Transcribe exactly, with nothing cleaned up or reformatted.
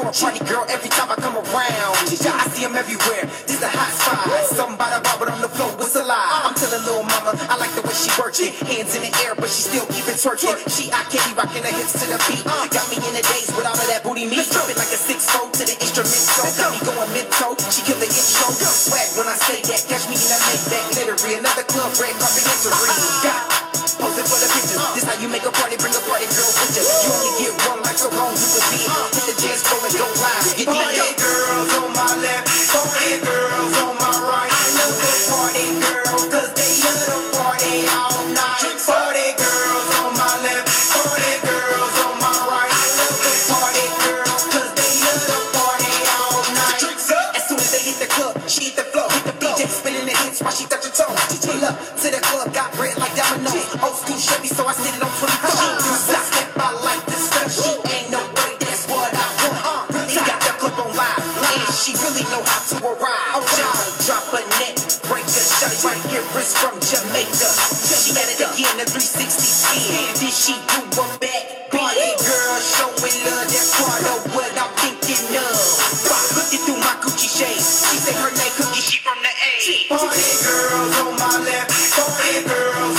a party girl every time I come around. Yeah, I see them everywhere. This the hot spot. Something by the bar, but on the floor, what's a lie? I'm telling little mama, I like the way she works it. Hands in the air, but she still keep it twerking. She, I can't be rocking her hips to the beat. Got me in the days with all of that booty meat. Dropping like a six foot to the instrumental. Got me going mid-toe. She kill the intro. Swag when I say that. Catch me in a Maybach glittery. Another club, red carpet entry. Got posing for the pictures. This how you make a party, bring a party girl with you. You only get one life, so long you can be. Hit the dance floor and go live. Get party girls on my left, party girls on my right. I love the party girls, cause they love the party all night. Party girls on my left, party girls on my right. I love the party girls, cause they love the party all night. As soon as they hit the club, she hit the floor. Hit the D J spinning the hits while she touch her toes. Pull up to the club, got red like dominoes. Old school Chevy, so I sit it on twenty-four. I step out like this stuff. She ain't no way, that's what I want. Really got the club on live, and she really know how to arrive. Oh, John, drop a net, break a shot right here, wrist from Jamaica. She got it again, the three sixty spin. Then she do a back. Party girl, showing love, that's part of what I'm thinking of. Looking through my Gucci shades, she say her name Cookie, she from the A. Party girls on my left, party girls